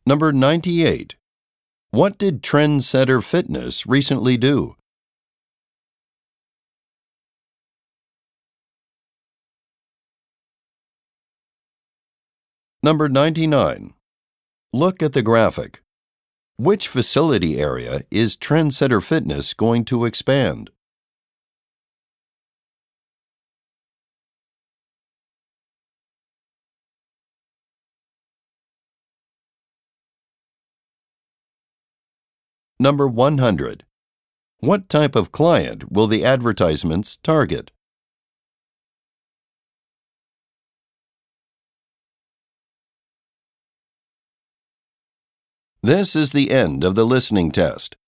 Number 98. What did Trendsetter Fitness recently do? Number 99. Look at the graphic. Which facility area is Trendsetter Fitness going to expand? Number 100. What type of client will the advertisements target? This is the end of the listening test.